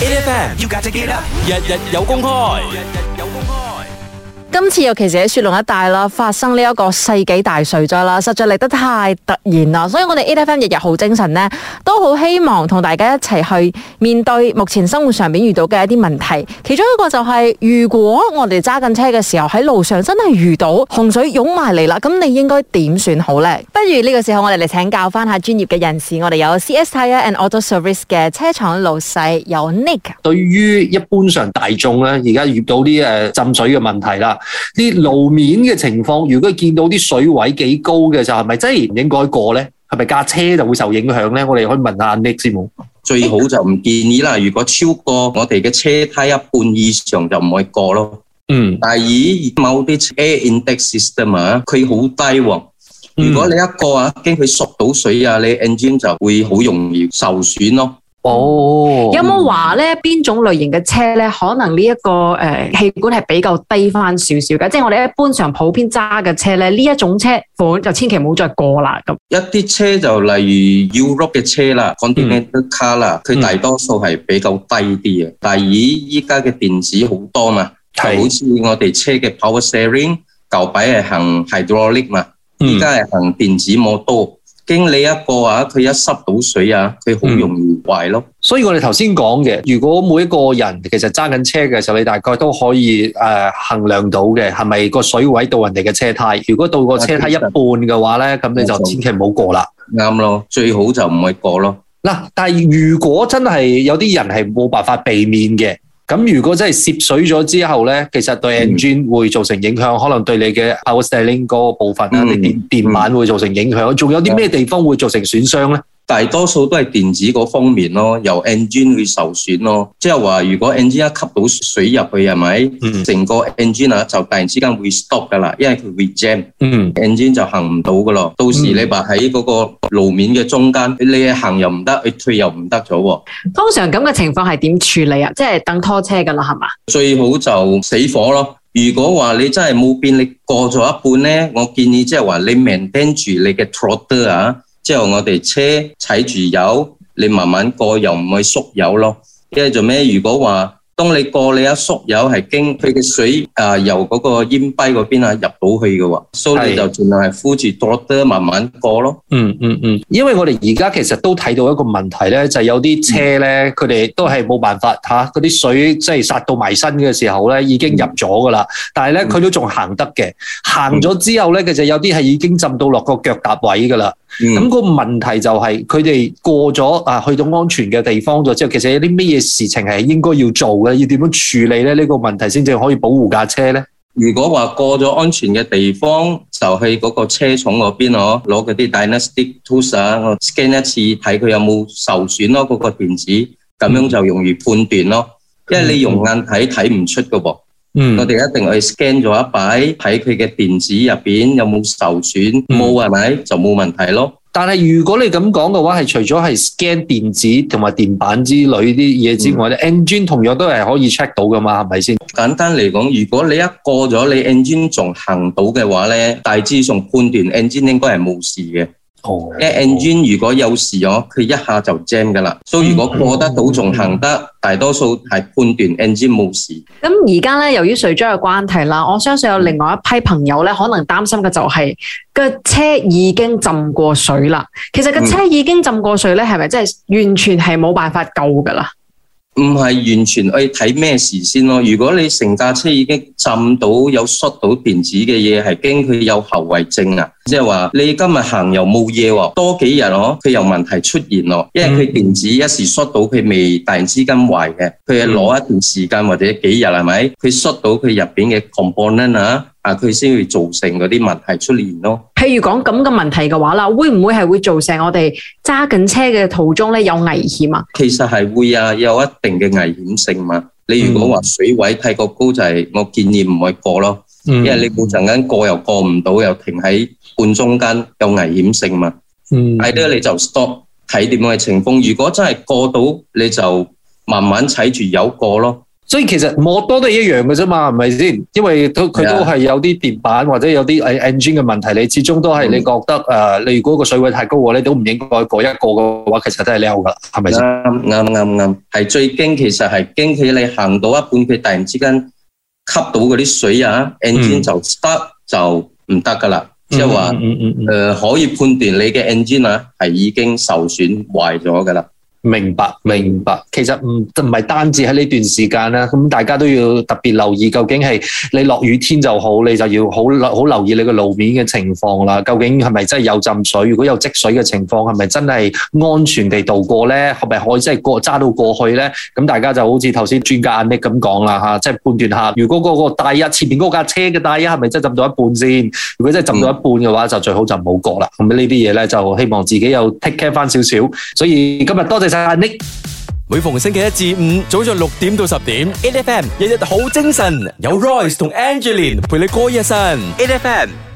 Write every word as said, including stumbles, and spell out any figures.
A F M you got to get up， 日日有公開，日日有公開。 今次尤其是喺雪隆一帶啦，發生呢一個世紀大水災啦，實在嚟得太突然啦，所以我哋 A F M 日日好精神呢，都好希望同大家一齊去面對目前生活上面遇到嘅一啲問題。其中一個就係、是，如果我哋揸緊車嘅時候喺路上真係遇到洪水湧埋嚟啦，咁你應該點算好呢？不如呢個時候我哋嚟請教翻下專業嘅人士，我哋有 C S Tyre and Auto Service 嘅車廠老細有 Nick。 對於一般上大眾咧，而家遇到啲誒浸水嘅問題啦。啲路面嘅情況，如果見到啲水位幾高嘅時候，係咪真係唔應該過咧？係咪架車就會受影響咧？我哋可以問下 Nick 先冇。 最好就唔建議啦。如果超過我哋嘅車胎一半以上就唔可以過咯。嗯。第二，某啲 air intake system 啊，佢好低喎。如果你一過啊，驚佢縮到水啊，你 engine 就會好容易受損咯。 哦，有冇話咧邊種類型嘅車咧，可能呢、這、一個誒、呃、氣管係比較低翻少少嘅？即係我哋一般上普遍揸嘅車咧，呢一種車款就千祈唔好再過啦。咁一啲車就例如 Europe 嘅車啦 ，Continental Car 啦，佢大多數係比較低啲嘅。第二，依家嘅電子好多嘛，就好似我哋車嘅 Power Steering 舊擺係行 Hydraulic 嘛，依家係行電子摩多。經你一個啊，佢一濕到水啊，佢好容易壞咯。 嗯、所以我哋頭先講嘅，如果每一個人其實揸緊車嘅時候，你大概都可以誒、呃、衡量到嘅，係咪個水位到人哋嘅車胎？如果到個車胎一半嘅話咧，咁你就千祈唔好過啦。啱咯，最好就唔可以過咯。 嗱，但係如果真係有啲人係冇辦法避免嘅。咁如果真係涉水咗之後咧，其實對 engine 會造成影響，嗯、可能對你嘅 power steering 嗰個部分啊，你、嗯、電電板會造成影響。仲、嗯、有啲咩地方會造成損傷咧？ 大多數都係電子嗰方面咯，由 engine 會受損咯。即係話，如果 engine 一吸到水入去，係咪？成、嗯、個 engine 啊，就突然之間會 stop 噶啦，因為佢會 jam，嗯 engine 就行唔到噶咯。到時你話喺嗰個路面嘅中間，你行又唔得，你退又唔得咗。 通常咁嘅情況係點處理啊？即係等拖車噶啦，係嘛？最好就死火咯。如果話你真係冇變，你過咗一半咧，我建議即係話你 maintain 住你嘅 throttle 啊。之後我哋車踩住油，你慢慢過又唔會縮油咯。因為做咩？如果話當你過你一縮油係經佢嘅水啊、呃、由嗰個煙蔽嗰邊啊入到去嘅喎，所以你就盡量係扶住 throttle 慢慢過咯。 嗯嗯嗯，因為我哋而家其實都睇到一個問題咧，就係、是、有啲車咧，佢哋都係冇辦法嚇，嗰、啊、啲水即係殺到埋身嘅時候咧，已經入咗噶啦。但係咧，佢都仲行得嘅，行咗之後咧，其實有啲係已經浸到落個腳踏位噶啦。咁、嗯、個問題就係佢哋過咗啊，去到安全嘅地方咗之後，其實有啲咩嘢事情係應該要做嘅，要點樣處理咧？呢、這個問題先至可以保護架車咧。 如果話過咗安全嘅地方，就去嗰個車廠嗰邊哦，攞嗰啲 diagnostic tools 啊，我 scan 一次睇佢有冇受損咯，嗰、那個電子，咁樣就容易判斷咯。嗯、因為你用眼睇睇唔出噶噃。嗯，我哋一定去 scan 咗一擺，睇佢嘅電子入邊有冇受損，冇係咪就冇問題咯。 但係如果你咁講嘅話，係除咗係 scan 電子同埋電板之類啲嘢之外咧、嗯、，engine 同樣都係可以 check 到噶嘛，係咪先？ 簡單嚟講，如果你一過咗你 engine 仲行到嘅話咧，大致上判斷 engine 應該係冇事嘅。哦，因為 engine 如果有事咗，佢一下就 jam 噶啦。所以如果過得到仲行得，嗯、大多數係判斷 engine 冇事。 咁而家咧，由於水災嘅關係啦，我相信有另外一批朋友咧，可能擔心嘅就係個車已經浸過水啦。其實個車已經浸過水咧，係咪真係完全係冇辦法救噶啦？ 唔係完全去睇咩事先咯。如果你成架車已經浸到有摔到電子嘅嘢，係驚佢有後遺症啊。即係話你今日行又冇嘢喎，多幾日哦，佢有問題出現咯。因為佢電子一時摔到佢未突然之間壞嘅，佢係攞一段時間或者幾日係咪？佢摔到佢入邊嘅 component 啊，啊佢先會造成嗰啲問題出現咯。 譬如講咁嘅問題嘅話啦，會唔會係會造成我哋揸緊車嘅途中咧有危險啊？ 其實係會啊，有一定嘅危險性嘛。你如果話水位太過高，就係我建議唔可以過咯。因為你冇陣間過又過唔到，又停喺半中間，有危險性嘛。嗯，係咧你就 stop 睇點樣嘅情況。如果真係過到，你就慢慢踩住油過咯。 所以其實摩多都係一樣嘅啫嘛，係咪先？因為都佢都係有啲電板或者有啲誒 engine 嘅問題，你始終都係你覺得誒、嗯呃，你如果個水位太高嘅話，你都唔應該過一個嘅話，其實都係溜噶，係咪先？ 啱啱啱啱，係最驚，其實係驚起你行到一半，佢突然之間吸到嗰啲水啊、嗯、，engine 就 start 就唔得噶啦，即係話誒可以判斷你嘅 engine 啊係已經受損壞咗噶啦。 明白明白，其實唔唔係單止喺呢段時間啦，咁大家都要特別留意，究竟係你落雨天就好，你就要好好留意你個路面嘅情況啦。究竟係咪真係有浸水？如果有積水嘅情況，係咪真係安全地度過咧？係咪可以真係過揸到過去咧？咁大家就好似頭先專家阿 Nick 咁講啦嚇，即係判斷下，如果嗰個大一前面嗰架車嘅大一係咪真係浸到一半先？如果真係浸到一半嘅話，嗯、就最好就唔好過啦。咁呢啲嘢咧，就希望自己有 take care 翻少少。所以今日多謝。Nick 每逢星期一至五早上六點到十點 ，A F M 日日好精神，有 Royce 同 Angeline 陪你過一晨 ，A F M。